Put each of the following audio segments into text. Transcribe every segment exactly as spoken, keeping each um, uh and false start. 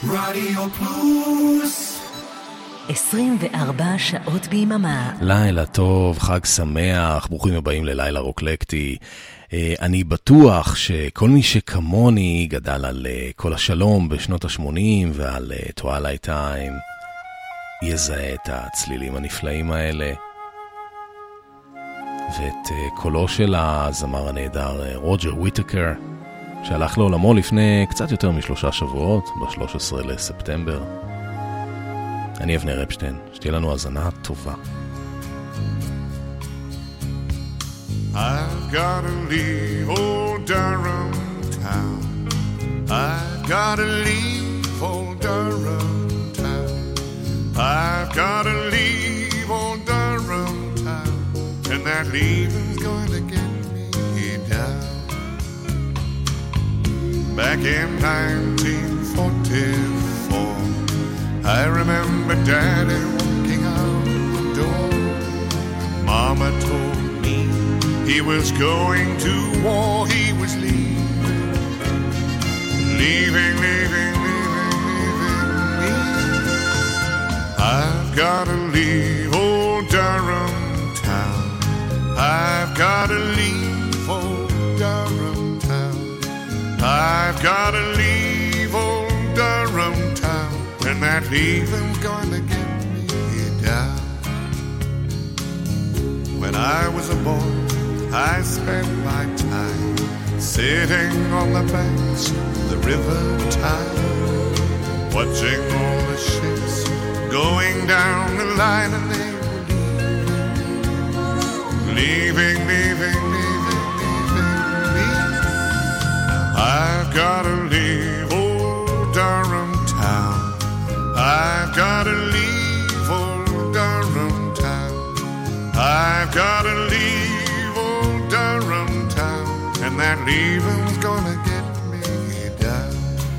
רדיו פלוס עשרים וארבע שעות ביממה. לילה טוב, חג שמח, ברוכים הבאים ללילה רוקלקטי. אני בטוח שכל מי שכמוני גדל על כל השלום בשנות ה-שמונים ועל טווילייט טיים יזהה את הצלילים הנפלאים האלה ואת קולו של הזמר הנהדר רוג'ר וויטקר שהלך לעולמו לפני קצת יותר משלושה שבועות, ב-שלושה עשר לספטמבר. אני אבנר אפשטיין, שתהיה לנו האזנה טובה. I've gotta leave old Durham town. I've gotta leave old Durham town. I've gotta leave old Durham town. And that leaving's going to get me down. Back in nineteen forty-four, I remember Daddy walking out the door. Mama told me he was going to war, he was leaving, leaving, leaving, leaving, leaving me. I've gotta leave old Durham town. I've gotta leave old Durham town. I've gotta leave old Durham town. And that leaving's gonna get me down. When I was a boy, I spent my time sitting on the banks of the river Tyne, watching all the ships going down the line, and they were leaving, leaving, leaving, leaving, leaving me. I've gotta leave old Durham town. I've gotta leave old Durham town. I've gotta leave old Durham town. And that leaving's gonna get me down.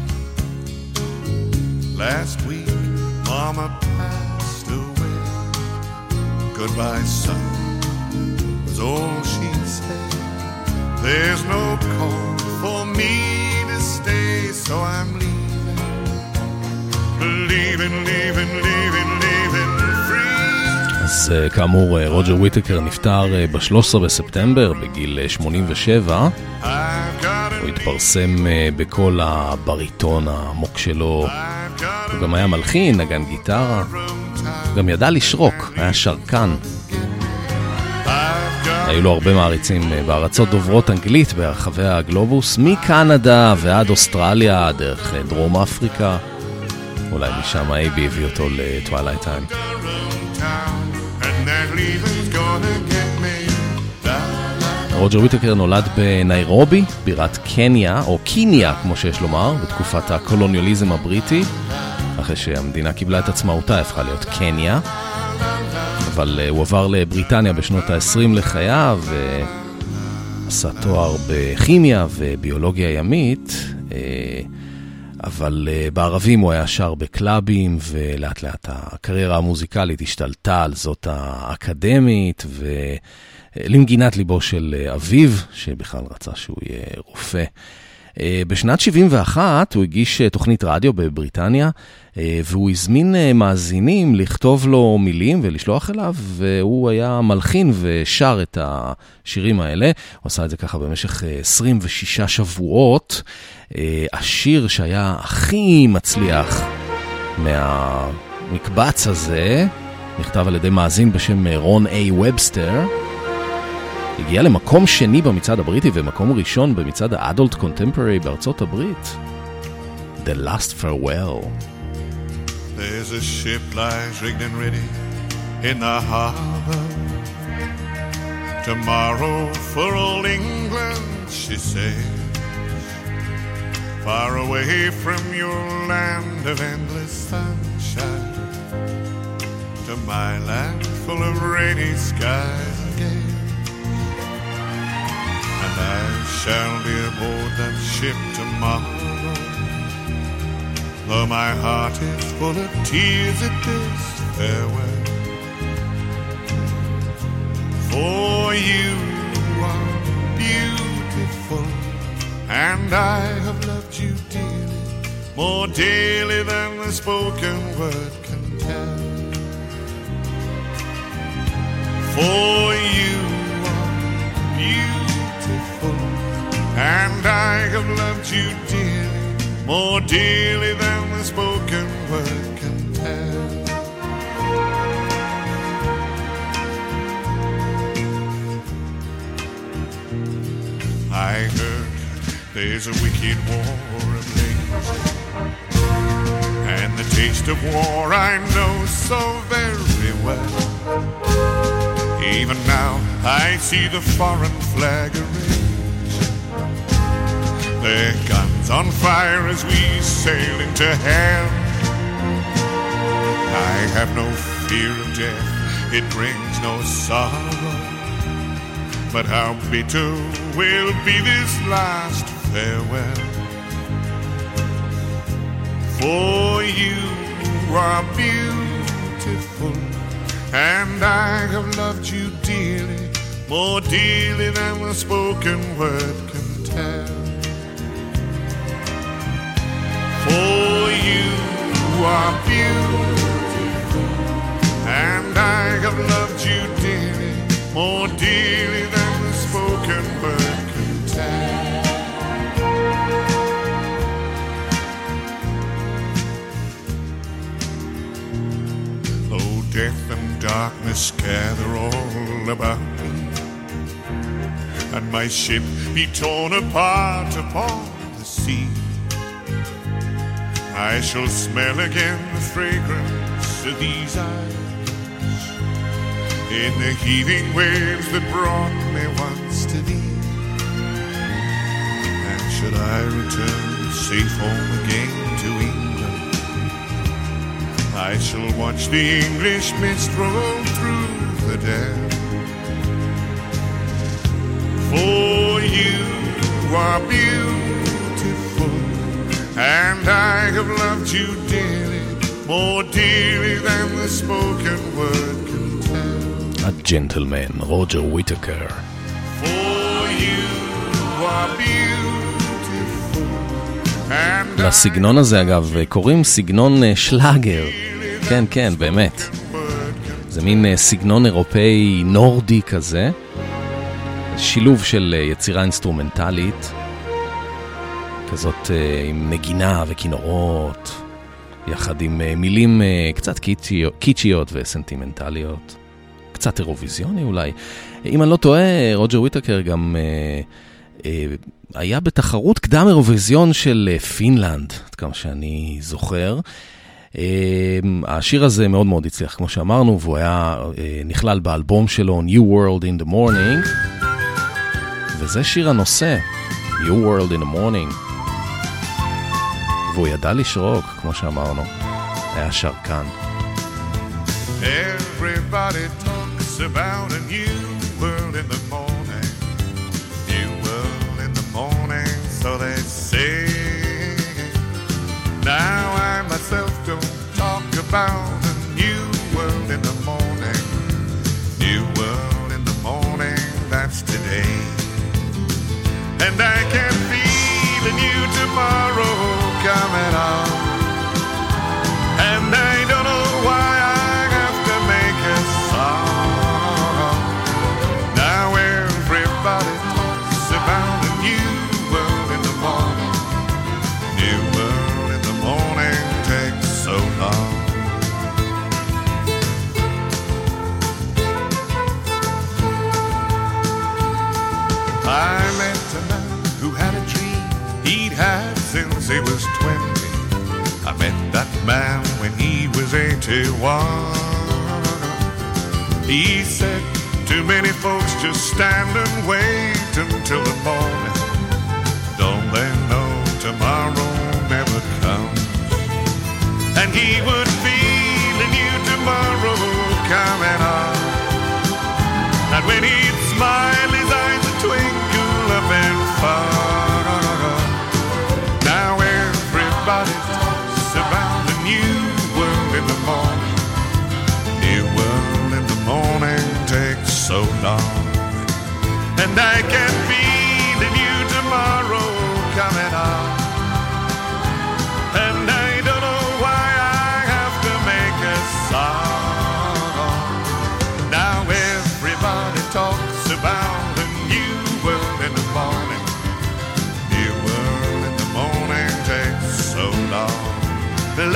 Last week, Mama passed away. Goodbye, son, was all she said. There's no call for me to stay, so I'm leaving. Leaving, leaving, leaving, leaving free. אז כאמור, רוג'ר וויטקר נפטר ב-שלושה עשר בספטמבר בגיל שמונים ושבע. הוא התפרסם בכל הבריטון העמוק שלו. הוא גם היה מלחין, נגן גיטרה. הוא גם ידע לשרוק, היה שרקן. היו לו הרבה מעריצים בארצות דוברות אנגלית ברחבי הגלובוס, מקנדה ועד אוסטרליה, דרך דרום אפריקה. אולי משם אייבי הביא אותו לטווילייט טיים. רוג'ר וויטקר נולד בניירובי, בירת קניה, או קיניה כמו שיש לומר, בתקופת הקולוניאליזם הבריטי. אחרי שהמדינה קיבלה את עצמאותה, הפכה להיות קניה. אבל הוא עבר לבריטניה בשנות ה-עשרים לחייו, ועשה תואר בכימיה וביולוגיה ימית. אבל uh, בערבים הוא היה שר בקלאבים, ולאט לאט הקריירה המוזיקלית השתלטה על זאת האקדמית, ולמגינת ליבו של אביו, שבכלל רצה שהוא יהיה רופא. Uh, בשנת שבעים ואחת הוא הגיש uh, תוכנית רדיו בבריטניה, uh, והוא הזמין uh, מאזינים לכתוב לו מילים ולשלוח אליו, והוא היה מלחין ושר את השירים האלה. הוא עשה את זה ככה במשך uh, עשרים ושישה שבועות. השיר שהיה הכי מצליח מהמקבץ הזה נכתב על ידי מאזין בשם רון איי ובסטר, הגיע למקום שני במצעד הבריטי ומקום ראשון במצעד האדולט קונטמפוררי בארצות הברית. The Last Farewell. There's a ship lies rigged and ready in the harbor. Tomorrow for old England she sails, far away from your land of endless sunshine, to my land full of rainy skies and gales. And I shall be aboard that ship tomorrow, though my heart is full of tears at this farewell. For you are beautiful, and I have loved you dearly more dearly than the spoken word can tell. For you are beautiful, and I have loved you dearly, more dearly than the spoken word can tell. I heard there's a wicked war ablaze, and the taste of war I know so very well. Even now I see the foreign flag erase, their guns on fire as we sail into hell. I have no fear of death, it brings no sorrow, but how bitter will be this last farewell. For you are beautiful, and I have loved you dearly, more dearly than the spoken word can tell. For you are beautiful, and I have loved you dearly, more dearly than the spoken word can tell. Though death and darkness gather all about me, and my ship be torn apart upon the sea, I shall smell again the fragrance of these eyes in the heaving waves that brought me once to thee. And should I return safe home again to England, I shall watch the English mist roll through the dam. For you are beautiful, and I have loved you dearly, more dearly than the spoken word can tell. הג'נטלמן, רוג'ר וויטקר. For you are beautiful, and לסגנון הזה אגב קוראים סגנון שלאגר. כן, כן, באמת. זה מין סגנון אירופאי נורדי כזה. שילוב של יצירה אינסטרומנטלית, כזאת עם נגינה וכינורות, יחד עם מילים קצת קיצ'יות וסנטימנטליות, קצת אירוויזיוני אולי. אם אני לא טועה, רוג'ר וויטקר גם היה בתחרות קדם אירוויזיון של פינלנד, עד כמה שאני זוכר. השיר הזה מאוד מאוד הצליח, כמו שאמרנו, והוא היה נכלל באלבום שלו New World in the Morning, וזה שיר הנושא, New World in the Morning. והוא ידע לשרוק, כמו שאמרנו, היה שרקן. Everybody talks about a new world in the morning, new world in the morning, so they say. Now I myself don't talk about a new world in the morning, new world in the morning, that's today. And I can feel a new tomorrow coming on, and I don't know why I have to make a song. Now everybody talks about a new world in the morning, new world in the morning takes so long. I met a man who had a dream he'd had since he was twenty. I met that man when he was eighty-one. He said, too many folks just stand and wait until the morning. Don't they know tomorrow never comes? And he would feel a new tomorrow coming on. And when he'd smile, his eyes would twinkle up and far. Now everybody talks about the new world in the morning. New world in the morning takes so long. And I can feel a new tomorrow coming on. And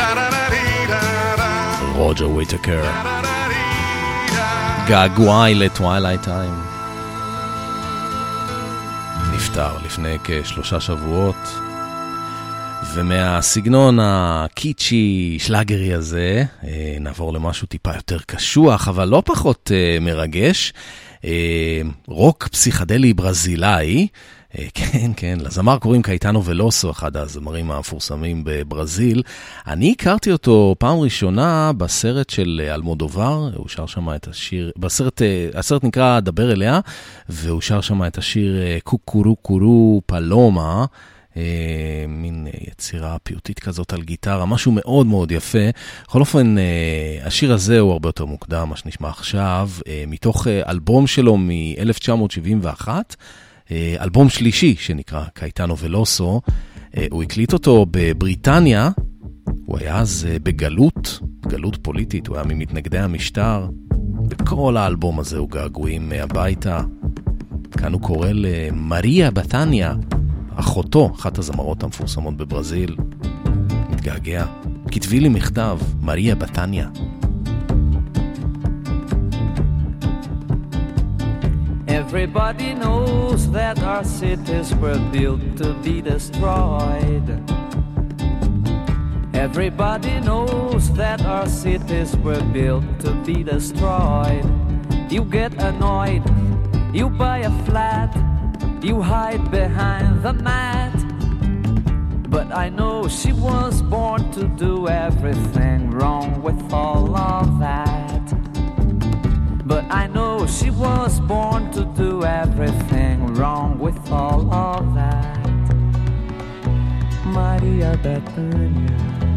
רוג'ר וויטקר, געגועי לטווילייט טיים. נפטר לפני כשלושה שבועות, ומהסגנון הקיצ'י שלאגרי הזה נעבור למשהו טיפה יותר קשוח, אבל לא פחות מרגש. רוק פסיכדלי ברזילאי, כן, כן, לזמר קוראים קייטנו ולוסו, אחד הזמרים המפורסמים בברזיל. אני הכרתי אותו פעם ראשונה בסרט של אלמודובר, הוא שר שם את השיר, בסרט, הסרט נקרא דבר אליה, והוא שר שם את השיר קוקורו קורו פלומה, מין יצירה פיוטית כזאת על גיטרה, משהו מאוד מאוד יפה. בכל אופן, השיר הזה הוא הרבה יותר מוקדם, מה שנשמע עכשיו, מתוך אלבום שלו מ-אלף תשע מאות שבעים ואחת, אלבום שלישי שנקרא קייטנו ולוסו. הוא הקליט אותו בבריטניה, הוא היה אז בגלות, גלות פוליטית, הוא היה ממתנגדי המשטר. בכל האלבום הזה הוא געגועים הביתה. כאן הוא קורא למריה בתניה, אחותו, אחת הזמרות המפורסמות בברזיל. מתגעגע. כתבי לי מכתב, מריה בתניה. Everybody knows that our cities were built to be destroyed. Everybody knows that our cities were built to be destroyed. You get annoyed, you buy a flat, you hide behind the mat. But I know she was born to do everything wrong with all of that. But I know she was born to do everything wrong with all of that. Maria Bethania,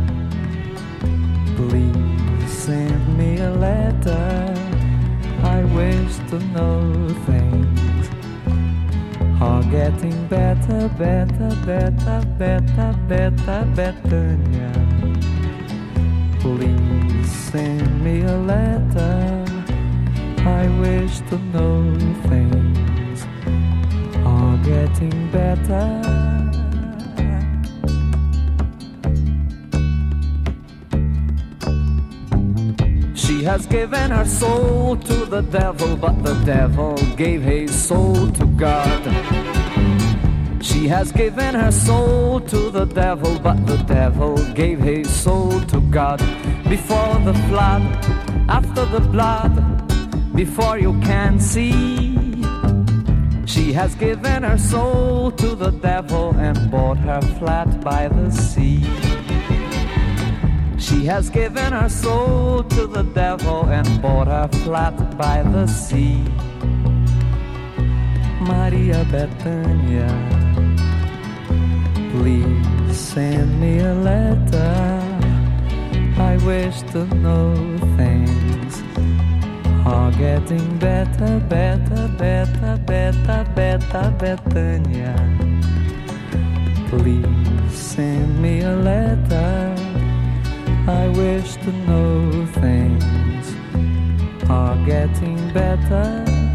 please send me a letter. I wish to know things are getting better, better, better, better, better, Bethania. Please send me a letter. I wish to know things are getting better. She has given her soul to the devil, but the devil gave his soul to God. She has given her soul to the devil, but the devil gave his soul to God. Before the flood, after the blood, before you can see, she has given her soul to the devil and bought her flat by the sea. She has given her soul to the devil and bought her flat by the sea. Maria Bethania, please send me a letter. I wish to know things are getting better, better, better, better, better, Bethania. Please send me a letter. I wish to know things are getting better.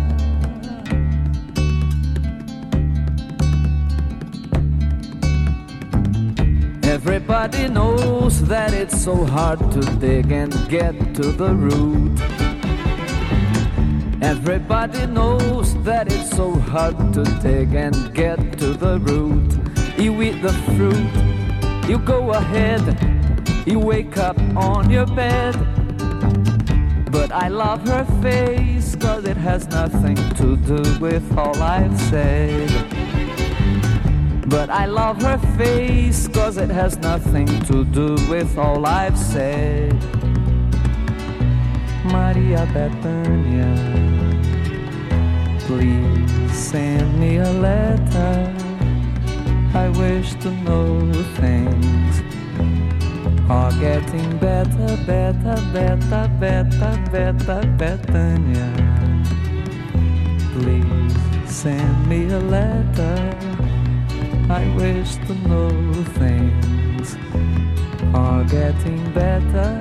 Everybody knows that it's so hard to dig and get to the root. Everybody knows that it's so hard to dig and get to the root. You eat the fruit, you go ahead, you wake up on your bed. But I love her face, cause it has nothing to do with all I've said. But I love her face, cause it has nothing to do with all I've said. Maria Bethania, please send me a letter. I wish to know things are getting better, better, better, better, better, Bethania. Please send me a letter. I wish to know things are getting better.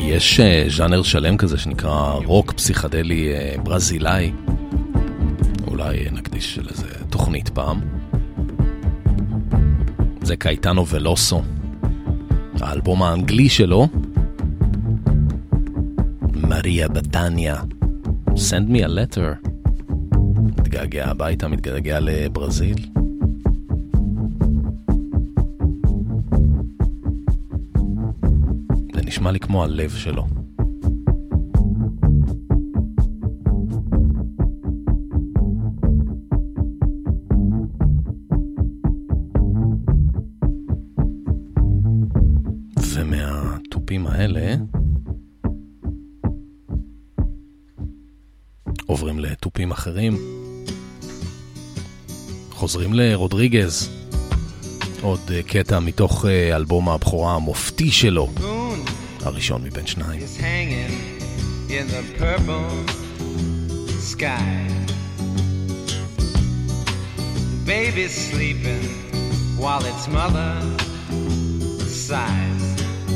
יש ז'אנר שלם כזה שנקרא רוק פסיכדלי ברזילאי. אולי נקדיש לזה תוכנית פעם. זה קייטנו ולוסו, האלבום האנגלי שלו, מריה בטניה, Send me a letter. מתגעגע הביתה, מתגעגע לברזיל. זה נשמע לי כמו הלב שלו. ומהטופים האלה עוברים לטופים אחרים. חוזרים לרודריגז. עוד קטע מתוך אלבום הבכורה המופתי שלו, הראשון מבין שניים. In the purple sky, the baby's sleeping while its mother sighs.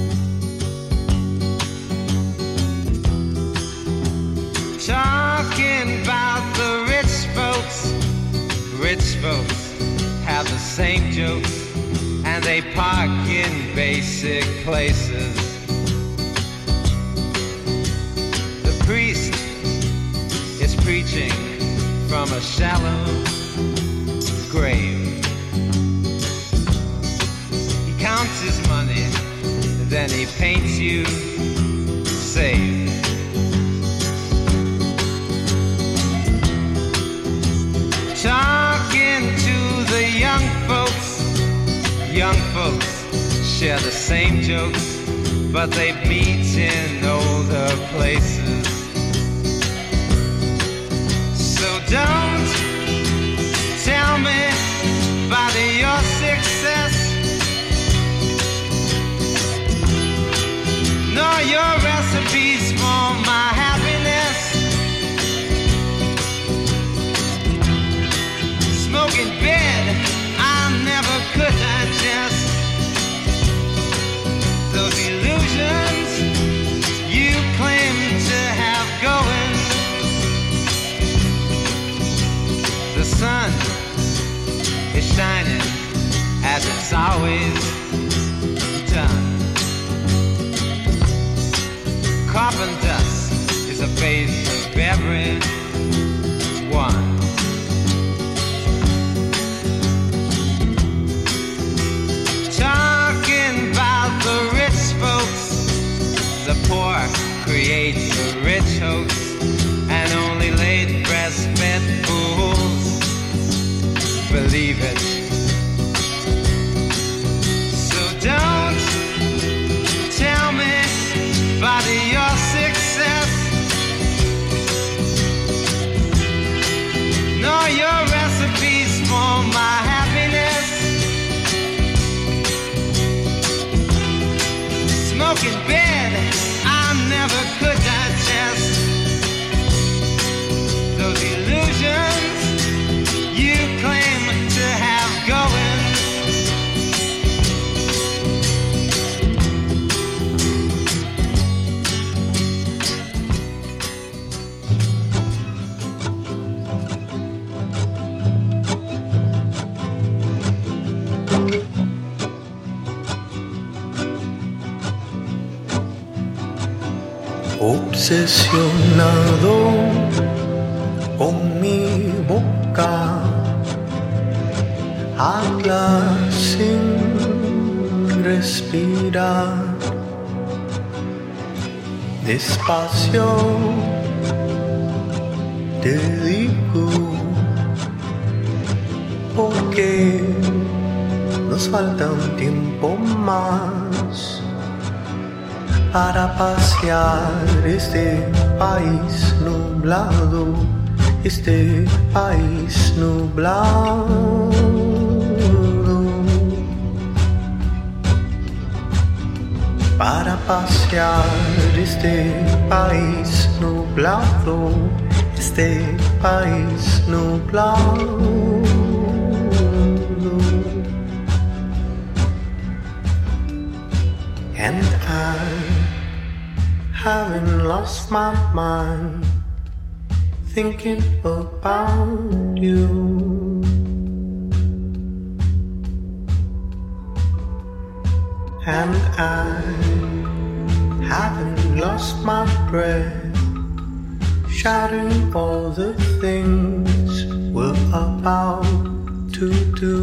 Talking about the rich folks, rich folks have the same jokes, and they park in basic places. The priest is preaching from a shallow grave. He counts his money, then he paints you safe. Talking to the young folks, young folks share the same jokes, but they meet in older places. So don't tell me about your success, nor your recipes for my happiness. Smoking bed, I never could digest. Those illusions you claim to have going. The sun is shining as it's always done. Carbon dust is a phase of everyone. Talking about the rich folks, the poor create the rich hoax, and only late breastfed fools believe it. So don't tell me about your success, nor your recipes for my happiness. Smoking bed, I never could digest. Those illusions you claim to have going. Obsesionado con mi boca, habla sin respirar, despacio te digo, porque nos falta un tiempo más para pasear este país nublado, este país nublado. Para pasear este país nublado, este país nublado. And I having lost my mind, thinking about you. And I haven't lost my breath, shouting all the things we're about to do.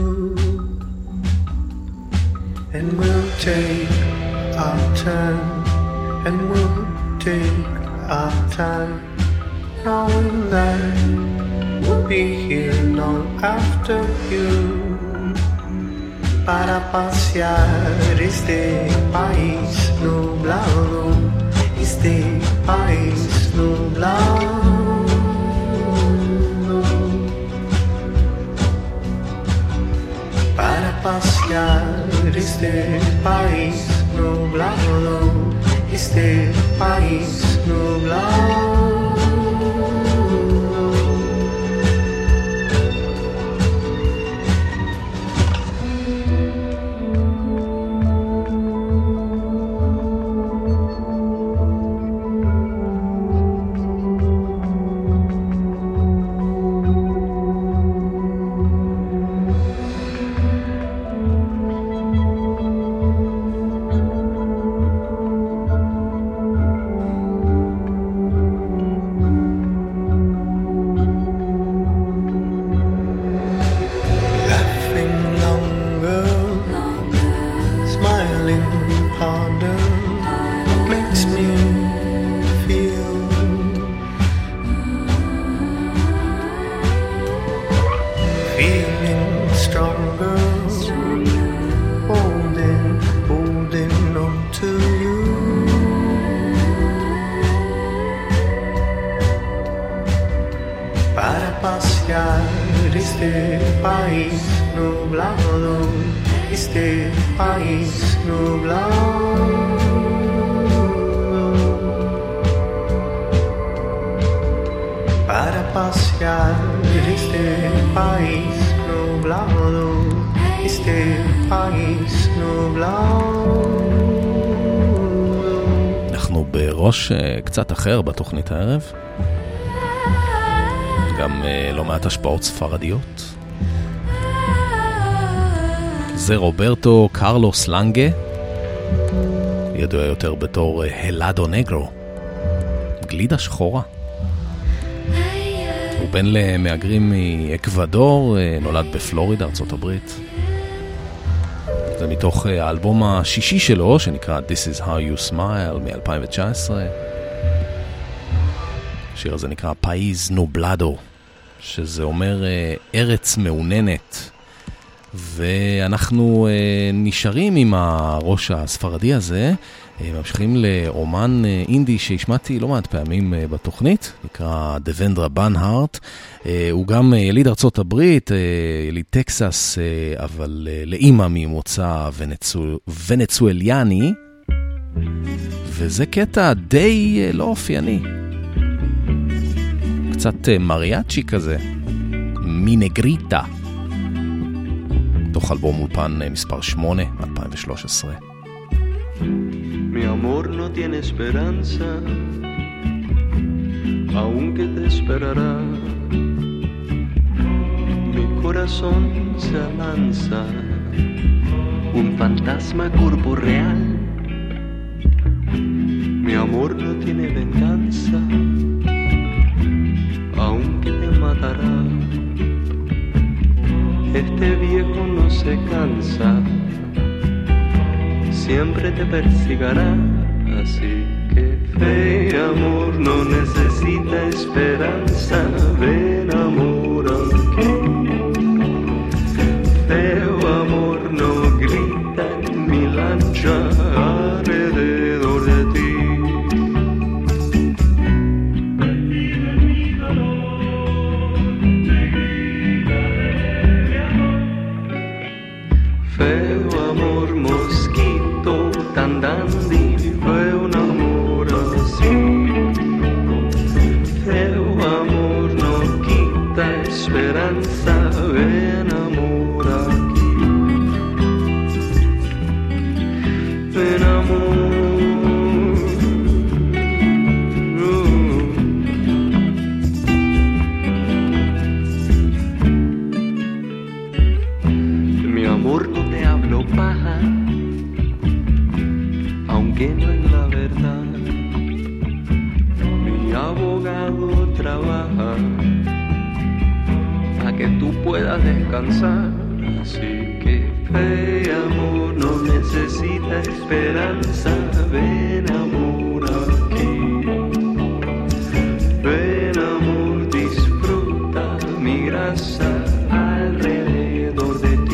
And we'll take our turn, and we'll take our time, knowing that we'll be here long after you. Para pasear este país nublado, este país nublado. Para pasear este país nublado, este país nublado. ראש קצת אחר בתוכנית הערב, גם לא מעט השפעות ספרדיות. זה רוברטו קרלוס לנגה, ידוע יותר בתור הלאדו נגרו, גלידה שחורה. הוא בן למהגרים מאקוודור, נולד בפלורידה, ארצות הברית. זה מתוך האלבום השישי שלו, שנקרא This is how you smile, מ-אלפיים תשע עשרה. השיר הזה נקרא פאיז נובלדו, שזה אומר ארץ מעוננת. ואנחנו נשארים עם הראש הספרדי הזה, ממשיכים לאומן אינדי שהשמעתי לא מעט פעמים בתוכנית, נקרא דוונדרה בנהארט. הוא גם יליד ארצות הברית, יליד טקסס, אבל לאמא ממוצא ונצואליאני, וזה קטע די לא אופייני, קצת מריאצ'י כזה, מינגריטה, תוך אלבום אולפן מספר שמונה, אלפיים ושלוש עשרה. Mi amor no tiene esperanza, aunque te esperará. Mi corazón se alanza, un fantasma corporeal. Mi amor no tiene venganza, aunque te matará. Este viejo no se cansa, siempre te persigará, así que fe y amor no necesita esperanza, ven amor aquí. Feo amor no grita en mi lancha alrededor de ti. Feo amor mosquito tan dandy, fue un amor así. Feo amor no quita esperanza, ven amor aquí. Ven amor, trabaja a que tú puedas descansar. Así que fe, amor, no necesita esperanza. Ven, amor, aquí. Ven, amor, disfruta mi grasa alrededor de ti.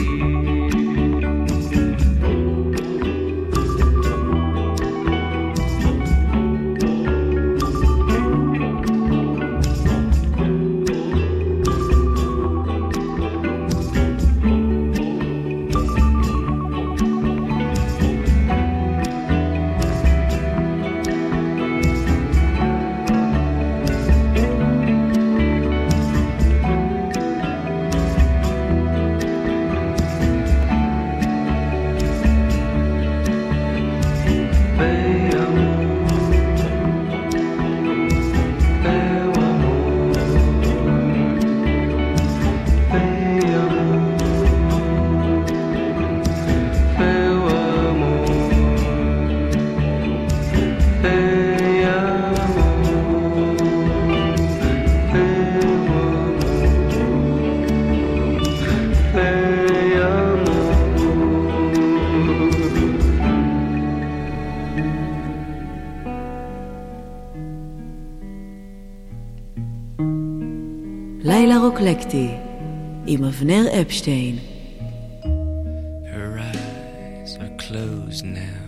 לילה רוקלקטי עם אבנר אפשטיין. Her eyes are closed now.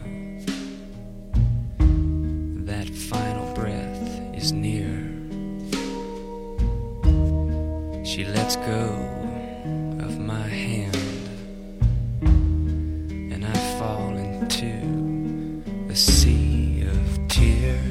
That final breath is near. She lets go of my hand, and I fall into a sea of tears.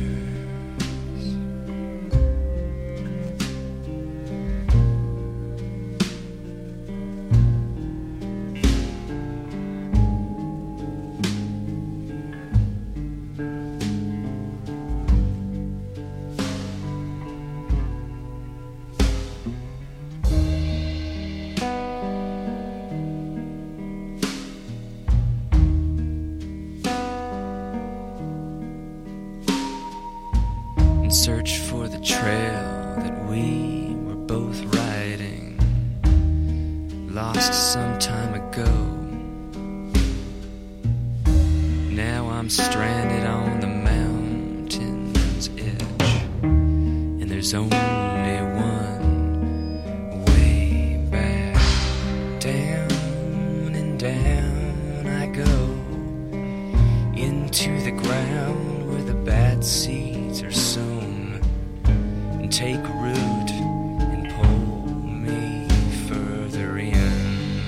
Search for the trail that we were both riding, lost some time ago. Now I'm stranded on the mountain's edge, and there's only one way back. Down and down I go, into the ground where the bad seeds are sown. Take root and pull me further in.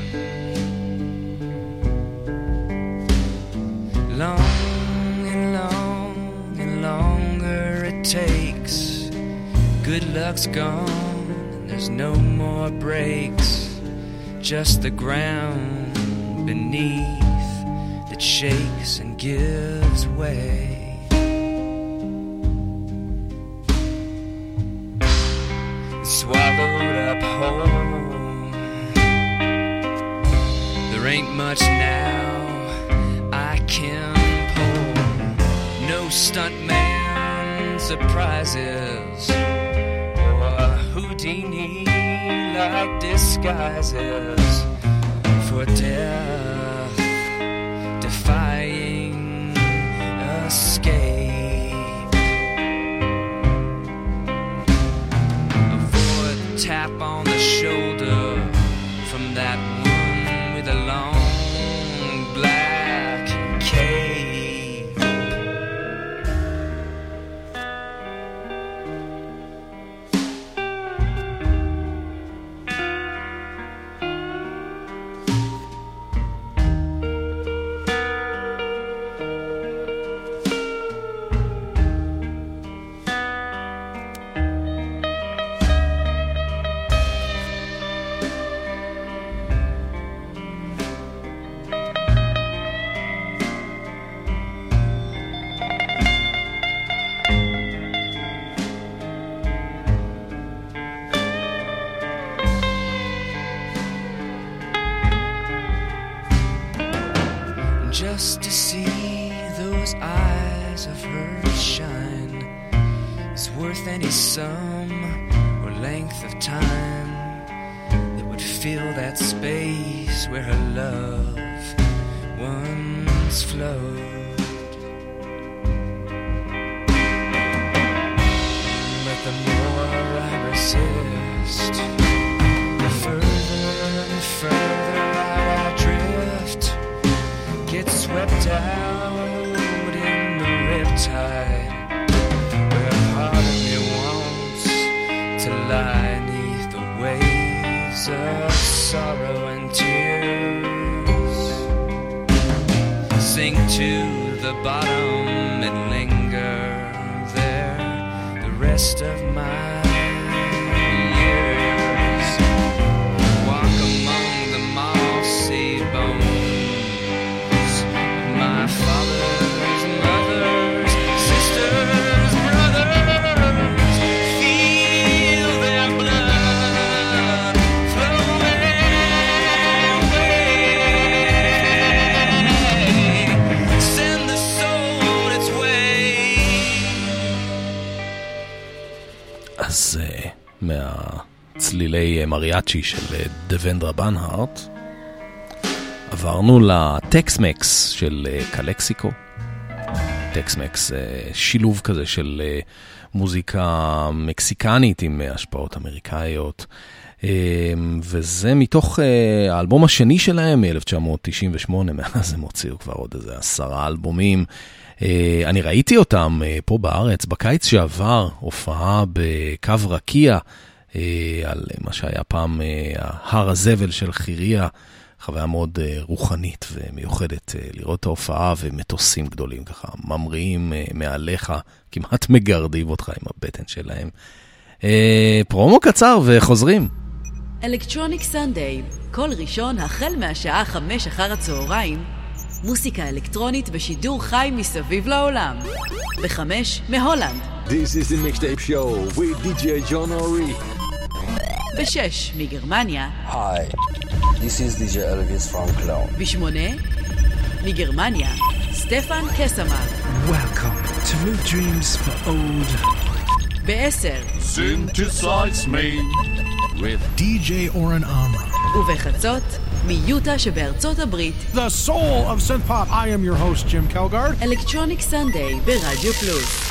Long and long and longer it takes. Good luck's gone and there's no more breaks. Just the ground beneath that shakes and gives way. Swallowed up whole. There ain't much now I can pull. No stuntman surprises or Houdini-like disguises for death defying escape. Tap on the shoulder from that one with a long black cape. Just to see those eyes of hers shine is worth any sum length of time that would fill that space where her love once flowed. But the more I resist, the further and further I drift, get swept out in the riptide, where part of me wants to lie neath the waves of sorrow and tears, sink to the bottom and linger there the rest of my years, walk among the mossy bones of my fathers, mothers, sisters, brothers, feel their blood flowing away, send the soul its way. אז uh, מהצלילי מריאצ'י של דוונדרה בנהארט עברנו לטקסמקס של uh, קלקסיקו. טקסמקס, uh, שילוב כזה של uh, מוזיקה מקסיקנית עם uh, השפעות אמריקאיות, uh, וזה מתוך uh, האלבום השני שלהם מ-אלף תשע מאות תשעים ושמונה, מאז הם הוציאו כבר עוד איזה עשרה אלבומים. Uh, אני ראיתי אותם uh, פה בארץ בקיץ שעבר, הופעה בקו רקיע uh, על uh, מה שהיה פעם uh, הר הזבל של חיריה, חוויה מאוד uh, רוחנית ומיוחדת uh, לראות את ההופעה, ומטוסים גדולים ככה ממריאים uh, מעליך, כמעט מגרדים אותך עם הבטן שלהם. uh, פרומו קצר וחוזרים. אלקטרוניק סנדיי, כל ראשון החל מהשעה חמש אחר הצהריים, מוסיקה אלקטרונית בשידור חי מסביב לעולם. בחמש מהולנד. This is the mixtape show with די ג'יי John Ori. בשש מגרמניה. Hi, this is די ג'יי Elvis from Cologne. בשמונה מגרמניה, סטפן קסמן. Welcome to New Dreams for Old. בעשר Synthesize me with די ג'יי Oren Amram. ובחצות מיוטה שבארצות הברית. The soul of synth pop. I am your host Jim Kelgard. אלקטרוניק סנדיי ברדיו פלוס.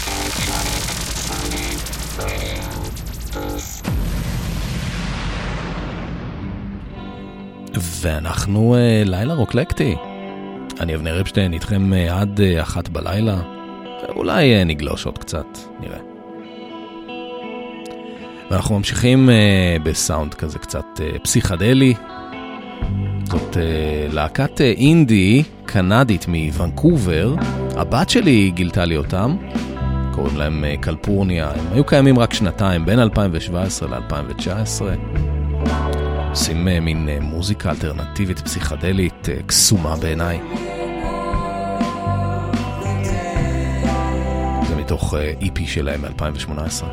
ואנחנו uh, לילה רוקלקטי. אני אבנר אפשטיין איתכם uh, עד uh, אחת בלילה. אולי uh, נגלוש עוד קצת, נראה. ואנחנו ממשיכים uh, בסאונד כזה קצת uh, פסיכדלי. זאת uh, להקת uh, אינדי קנדית מוונקובר. הבת שלי גילתה לי אותם. קוראים להם uh, קלפורניה. הם היו קיימים רק שנתיים, בין אלפיים שבע עשרה ל-אלפיים תשע עשרה. עושים uh, מין uh, מוזיקה אלטרנטיבית פסיכדלית uh, קסומה בעיניי. זה מתוך uh, אי פי שלהם מ-אלפיים שמונה עשרה.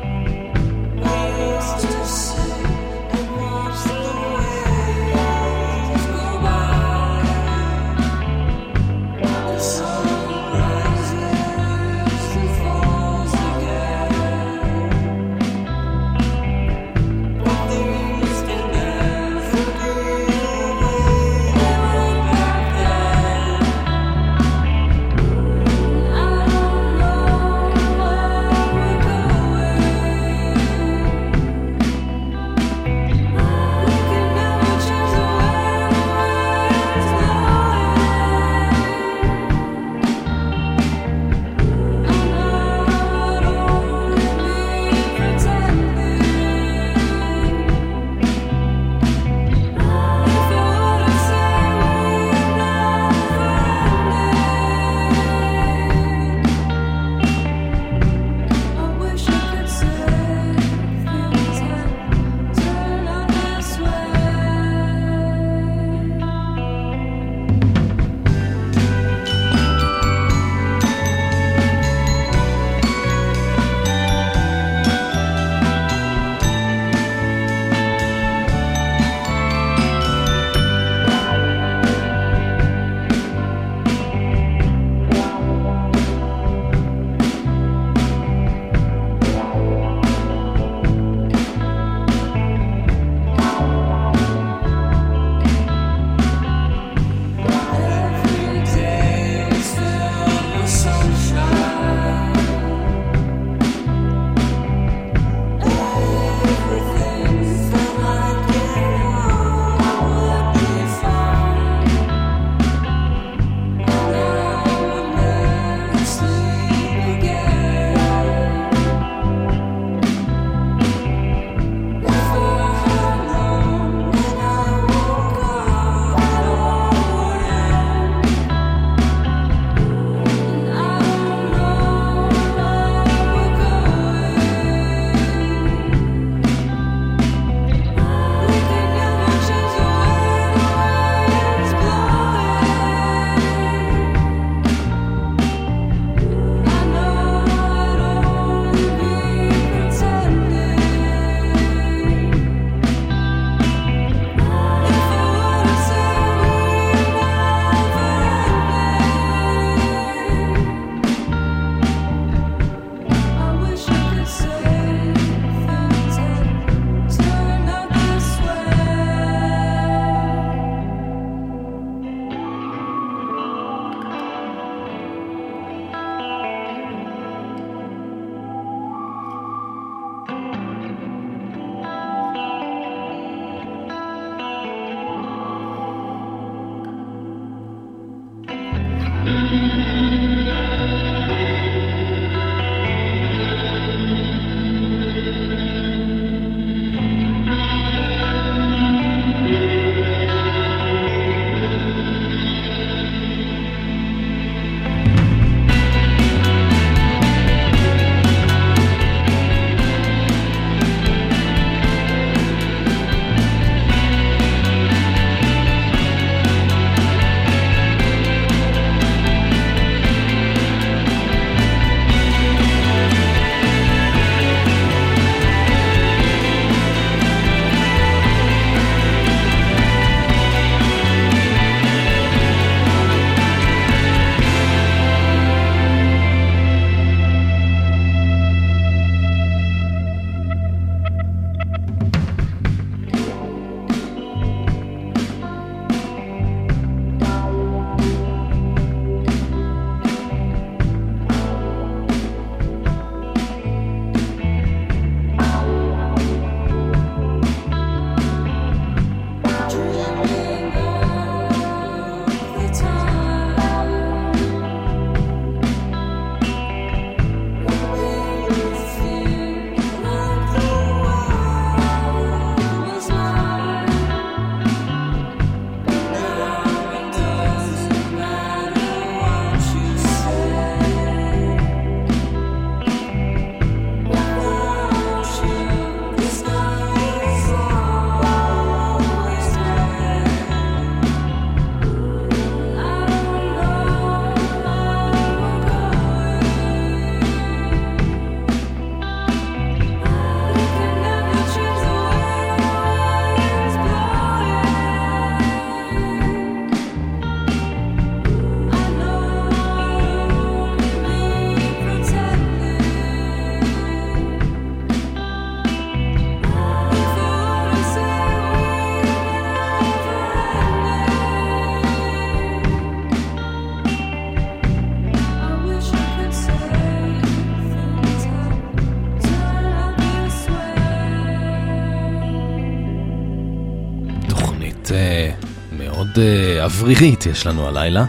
תקליט אה, מאוד אה, אוורירית יש לנו הלילה.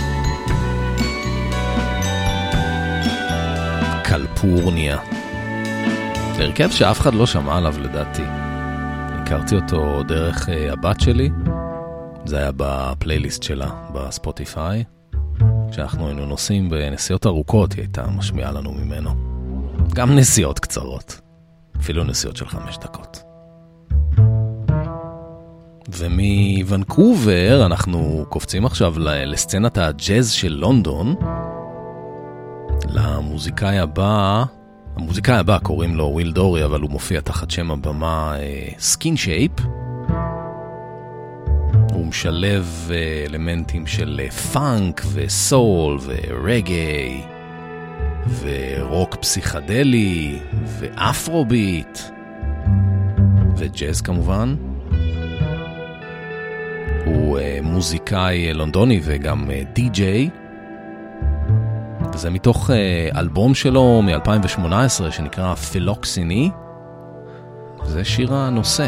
קלפורניה. הרכב שאף אחד לא שמע עליו לדעתי. הכרתי אותו דרך אה, הבת שלי. זה היה בפלייליסט שלה בספוטיפיי. כשאנחנו היינו נוסעים בנסיעות ארוכות, היא הייתה משמיעה לנו ממנו. גם נסיעות קצרות. אפילו נסיעות של חמש דקות. ומוונקובר אנחנו קופצים עכשיו לסצנת הג'אז של לונדון. למוזיקאי הבא, המוזיקאי הבא קוראים לו וויל דורי, אבל הוא מופיע תחת שם הבמה סקין שייפ. הוא משלב אלמנטים של פאנק וסול ורגי ורוק פסיכדלי ואפרוביט וג'אז כמובן. הוא מוזיקאי לונדוני וגם די-ג'יי. וזה מתוך אלבום שלו מ-אלפיים ושמונה עשרה שנקרא פילוקסיני. זה שיר הנושא.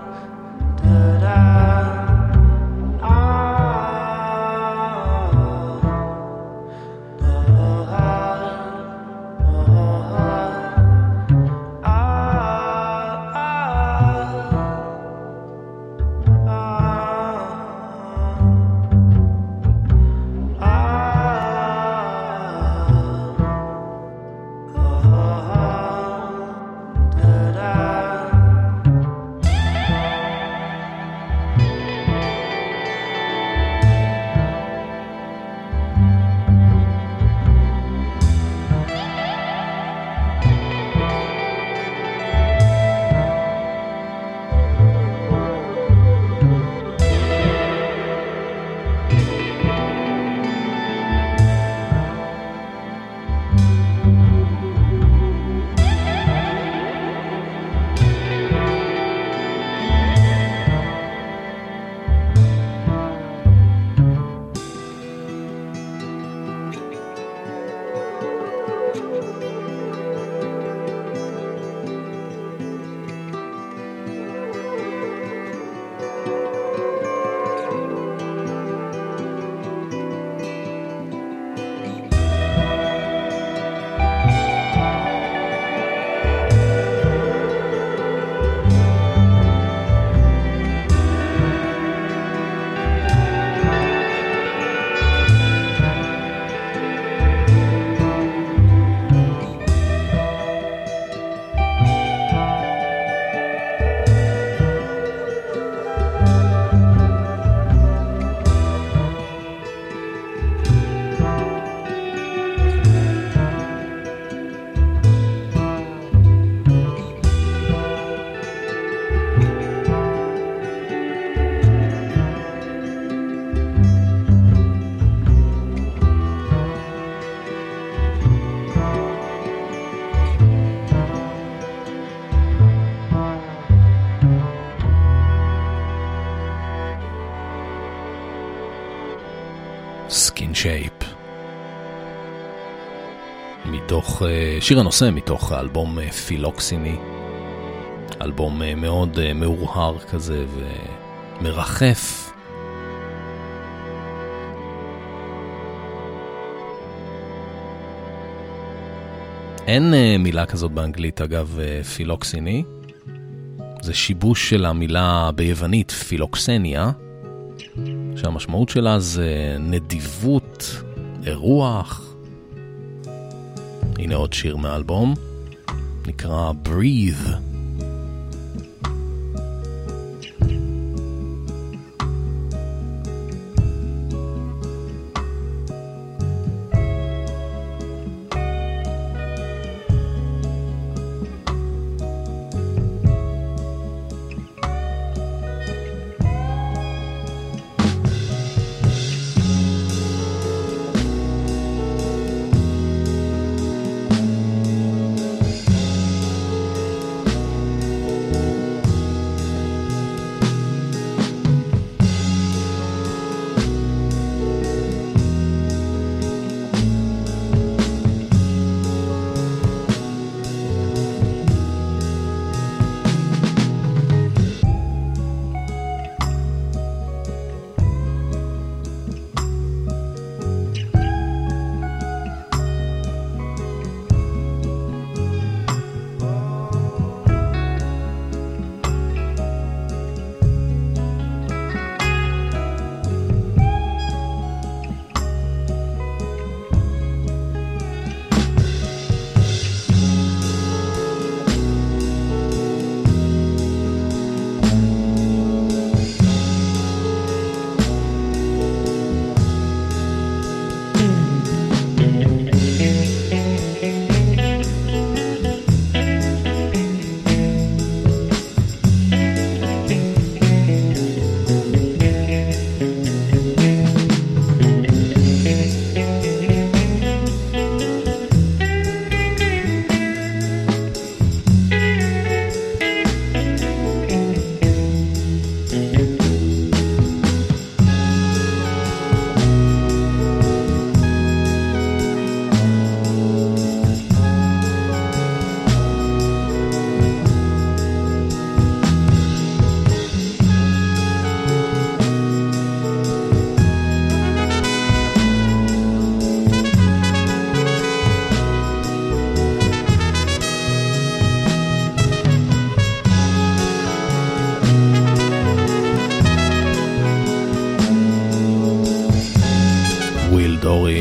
סקין שייפ. מתוך שיר הנושא מתוך האלבום פילוקסיני. אלבום מאוד מאורהר כזה ומרחף. אין מילה כזאת באנגלית אגב פילוקסיני. זה שיבוש של המילה ביוונית פילוקסניה. שהמשמעות שלה זה נדיבות, אירוח. הנה עוד שיר מהאלבום, נקרא Breathe.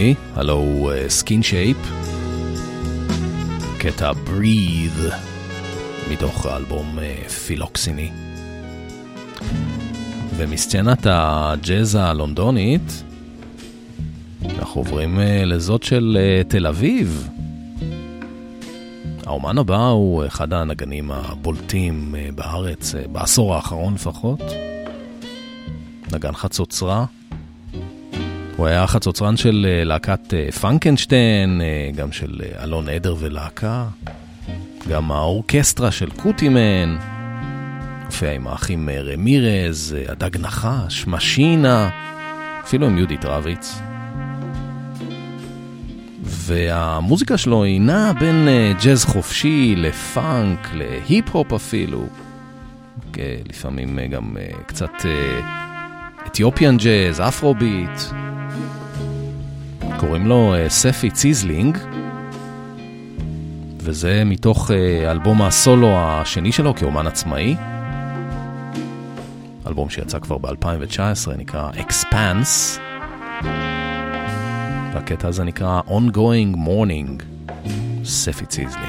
שלי, הלו סקין שייפ, קטע breathe, מתוך האלבום פילוקסיני. ומסצנת הג'אז הלונדונית, אנחנו עוברים לזאת של תל אביב. האומן הבא הוא אחד הנגנים הבולטים בארץ, בעשור האחרון לפחות. נגן חצוצרה. הוא היה חצוצרן של להקת פנקנשטיין, גם של אלון עדר ולהקה. גם האורקסטרה של קוטימן. הופיע עם האחים רמירז, הדג נחש, משינה, אפילו עם יהודית רביץ. והמוזיקה שלו היא נעה בין ג'אז חופשי לפאנק, להיפ-הופ אפילו. לפעמים גם קצת אתיופיאן ג'אז, אפרוביט. קוראים לו ספי ציזלינג. וזה מתוך אלבום הסולו השני שלו כאומן עצמאי. אלבום שיצא כבר ב-אלפיים תשע עשרה, נקרא Expanse. והקטע הזה נקרא Ongoing Morning, ספי ציזלינג.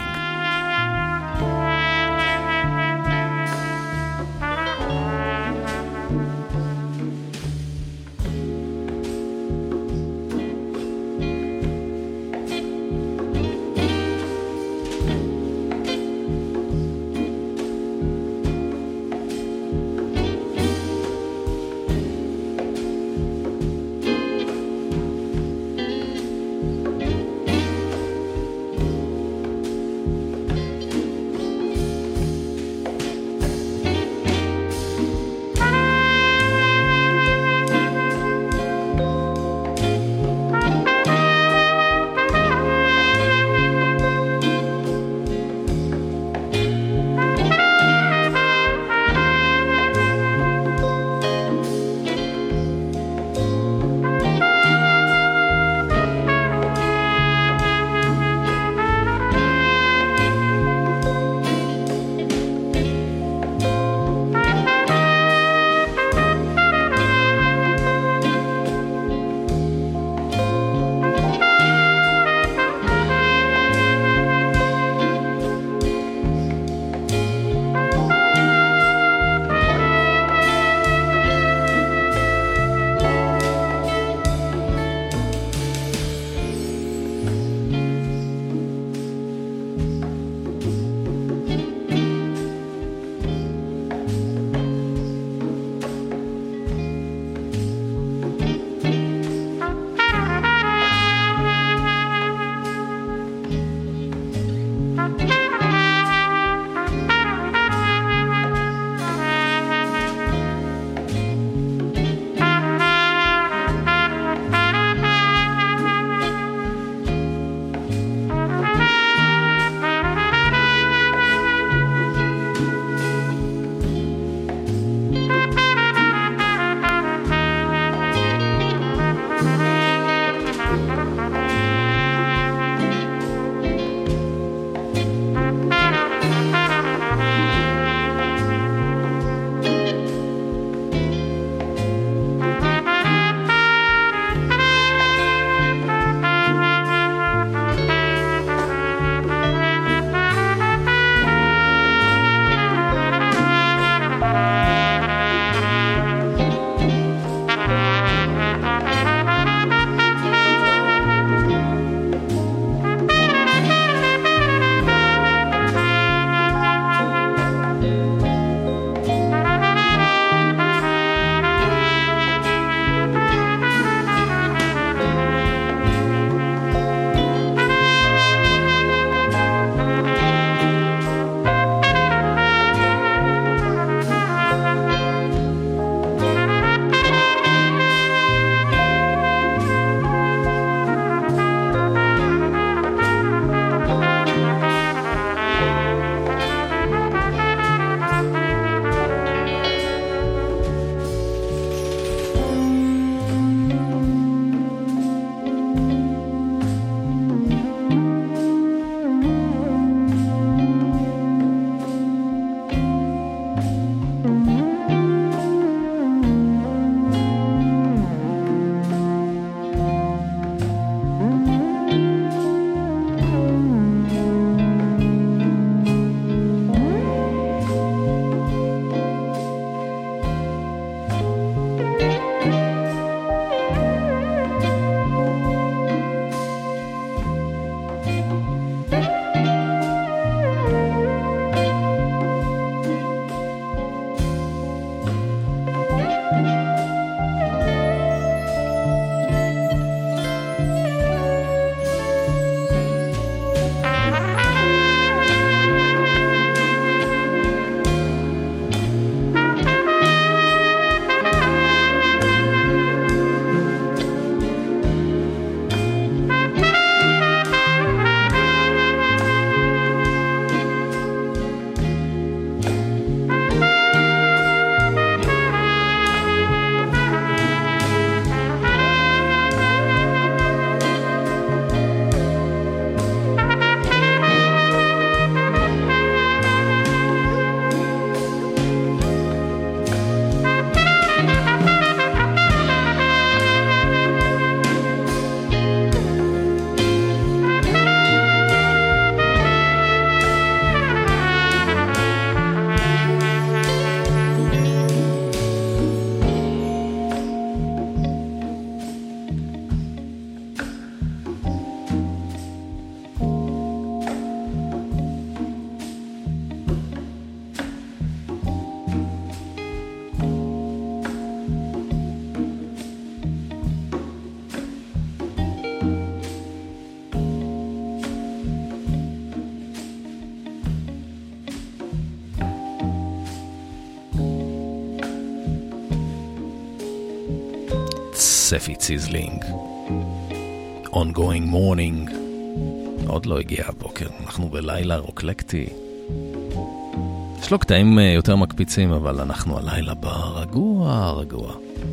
ספי ציזלינג. Ongoing Morning. עוד לא הגיע הבוקר, אנחנו בלילה רוקלקטי. יש לו קטעים יותר מקפיצים, אבל אנחנו הלילה ברגוע, רגוע.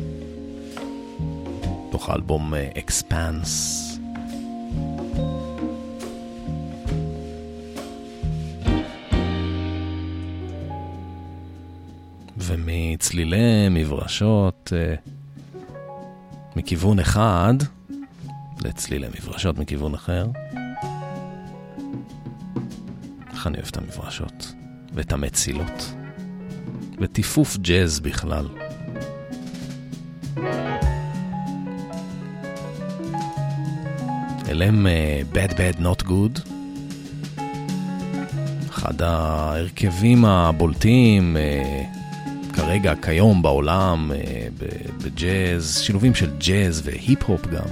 תוך האלבום Expanse. ומצלילי מברשות מכיוון אחד לצלילי מברשות מכיוון אחר. איך אני אוהב את המברשות ואת המצילות וטיפוף ג'אז בכלל. אלם uh, Bad Bad Not Good, אחד ההרכבים הבולטים uh, כרגע, כיום בעולם, uh, בג'אז, שילובים של ג'אז והיפ-הופ גם.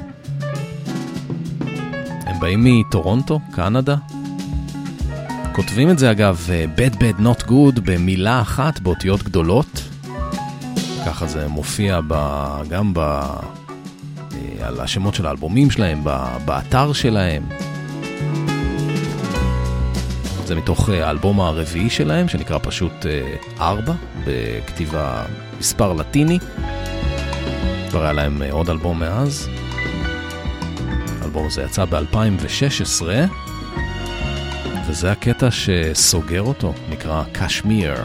הם באים מטורונטו, קנדה. כותבים את זה אגב, Bad Bad Not Good, במילה אחת, באותיות גדולות. ככה זה מופיע ב, גם ב, על השמות של האלבומים שלהם, ב, באתר שלהם. זה מתוך האלבום הרביעי שלהם, שנקרא פשוט ארבע, בכתיבה מספר לטיני. כבר היה להם עוד אלבום מאז. האלבום הזה יצא ב-אלפיים ושש עשרה, וזה הקטע שסוגר אותו, נקרא קשמיר.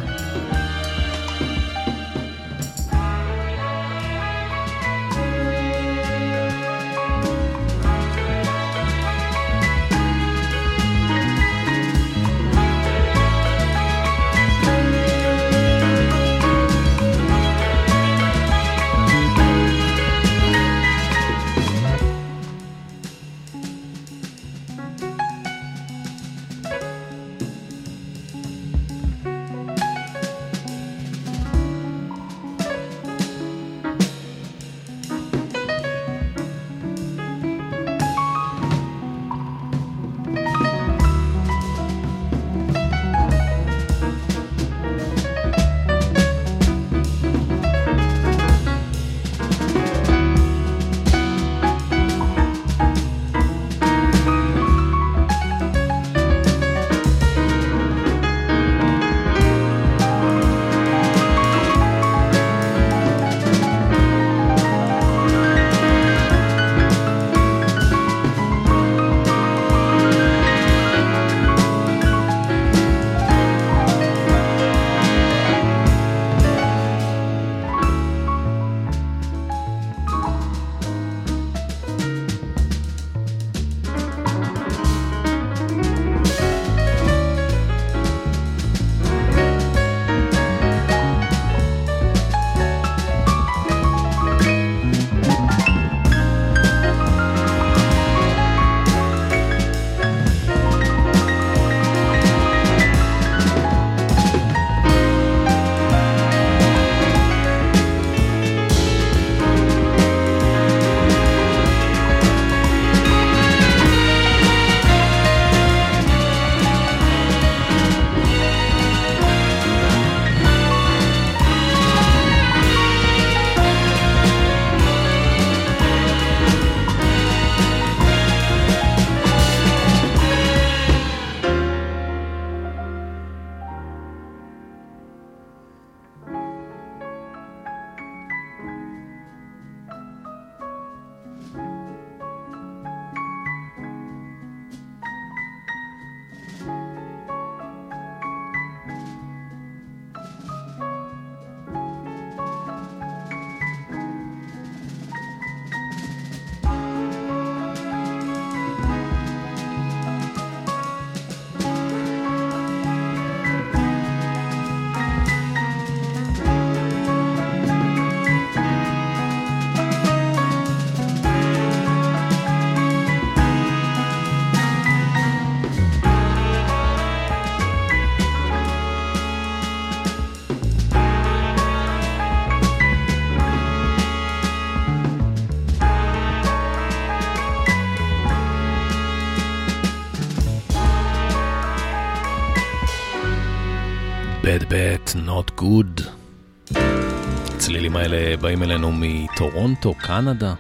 Bad Bad Not Good. הצלילים האלה באים אלינו מטורונטו, קנדה.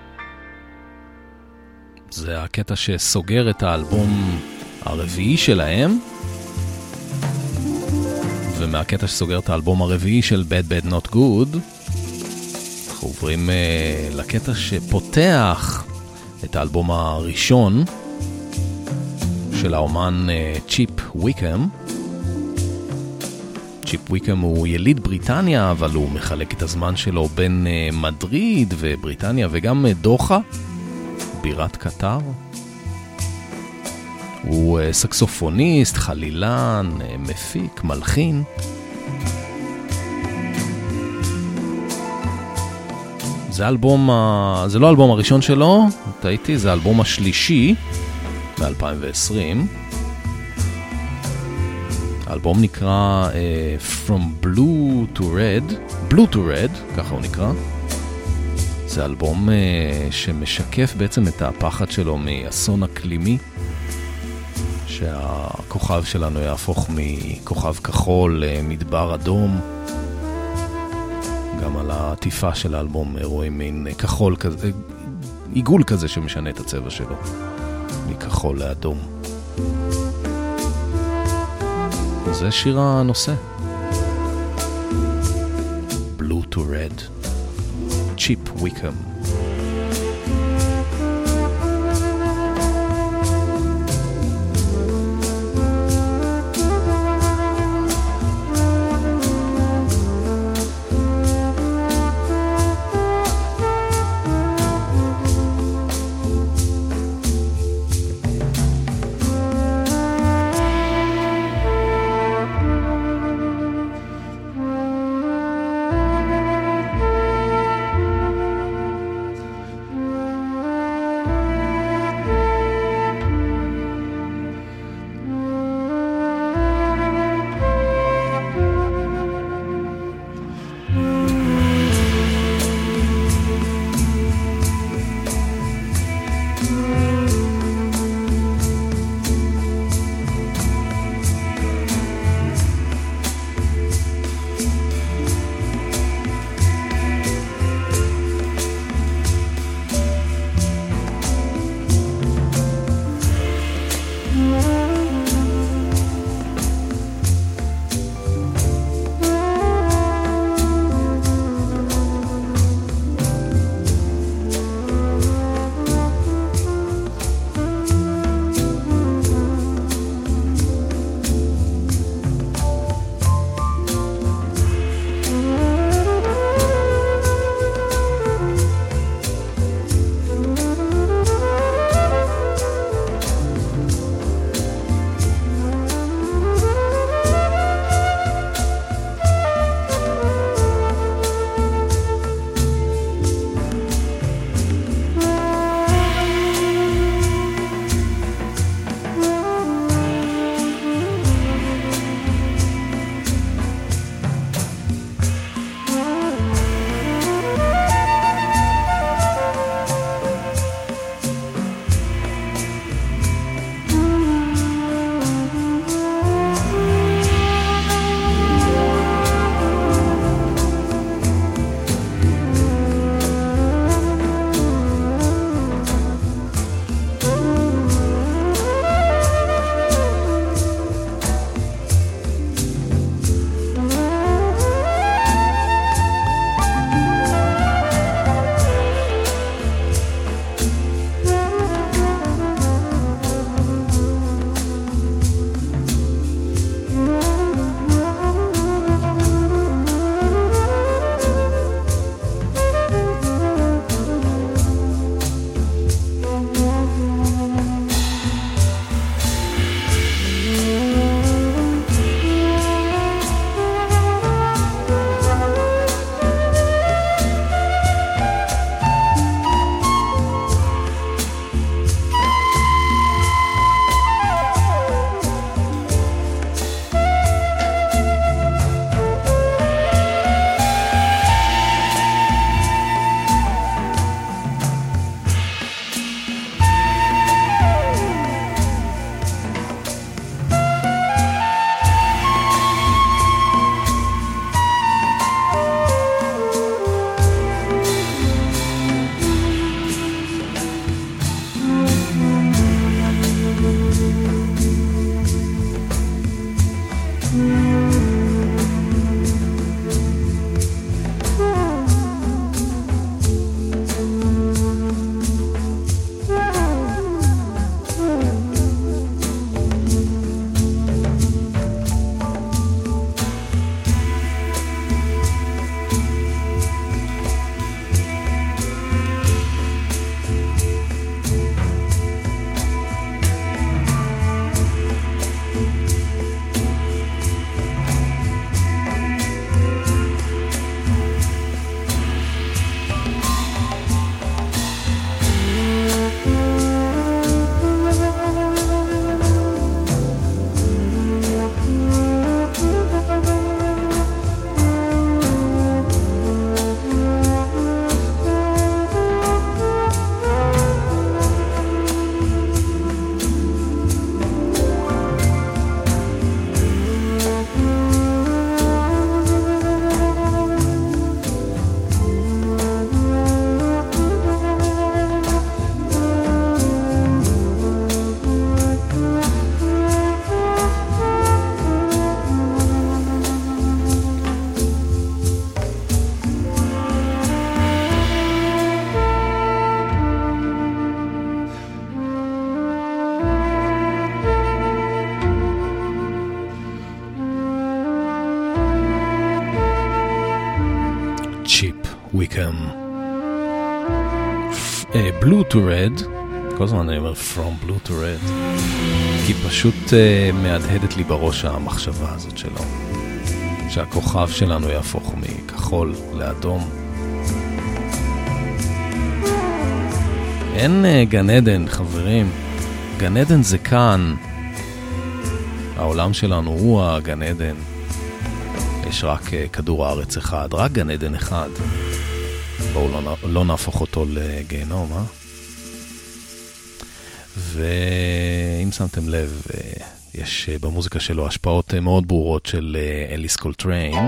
זה הקטע שסוגר את האלבום הרביעי שלהם, ומהקטע שסוגר את האלבום הרביעי של Bad Bad Not Good אנחנו עוברים uh, לקטע שפותח את האלבום הראשון של האומן uh, צ'יפ וויקם. צ'יפ וויקם הוא יליד בריטניה, אבל הוא מחלק את הזמן שלו בין uh, מדריד ובריטניה וגם uh, דוחה, בירת קטר. הוא uh, סקסופוניסט, חלילן, uh, מפיק, מלחין. זה אלבום, זה לא האלבום הראשון שלו, טעיתי, זה האלבום השלישי ב-אלפיים ועשרים. האלבום נקרא uh, From Blue to Red, Blue to Red, ככה הוא נקרא. זה אלבום uh, שמשקף בעצם את הפחד שלו מאסון אקלימי, שהכוכב שלנו יהפוך מכוכב כחול למדבר אדום. גם על העטיפה של האלבום רואים מין כחול כזה, עיגול כזה שמשנה את הצבע שלו מכחול לאדום. זה שיר הנושא, Blue to Red, צ'יפ וויקם. Blue to Red, כל הזמן אני אומר From Blue to Red, כי פשוט uh, מהדהדת לי בראש המחשבה הזאת שלו, שהכוכב שלנו יהפוך מכחול לאדום. אין uh, גן עדן, חברים, גן עדן זה כאן, העולם שלנו הוא הגן עדן, יש רק uh, כדור הארץ אחד, רק גן עדן אחד. בואו לא, לא נהפוך אותו לגיהנום, אה? ואם שמתם לב, יש במוזיקה שלו השפעות מאוד ברורות של אליס קולטריין.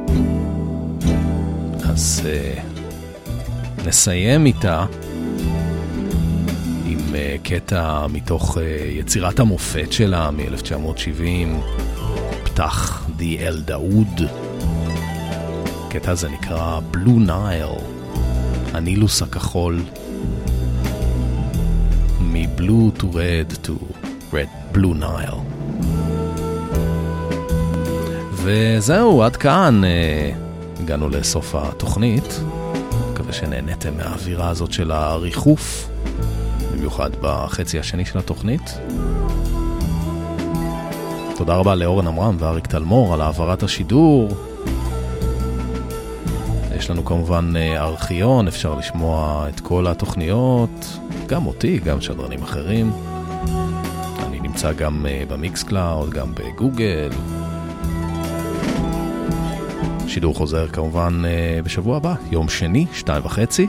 אז נסיים איתה עם קטע מתוך יצירת המופת שלה מ-אלף תשע מאות שבעים, פתח די אל דאוד. הקטע הזה נקרא Blue Nile, הנילוס הכחול, מ-Blue to Red to Red Blue Nile. וזהו, עד כאן הגענו לסוף התוכנית. מקווה שנהנתם מהאווירה הזאת של הריחוף, במיוחד בחצי השני של התוכנית. תודה רבה לאורן אמרם ואריק תלמור על העברת השידור. יש לנו כמובן ארכיון, אפשר לשמוע את כל התוכניות, גם אותי, גם שדרנים אחרים. אני נמצא גם במיקס קלאוד, גם בגוגל. שידור חוזר כמובן בשבוע הבא, יום שני, שתיים וחצי.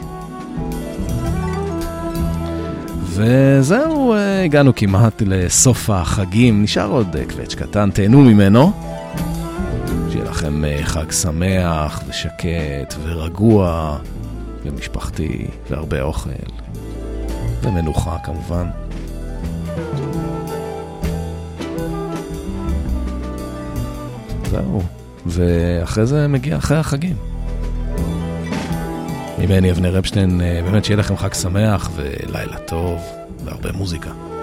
וזהו, הגענו כמעט לסוף החגים, נשאר עוד קווץ' קטן, תהנו ממנו. שיהיה לכם חג שמח ושקט ורגוע ומשפחתי והרבה אוכל ומנוחה כמובן. זהו, ואחרי זה מגיע אחרי החגים. ממני אבנר רפשטיין, באמת שיהיה לכם חג שמח ולילה טוב והרבה מוזיקה.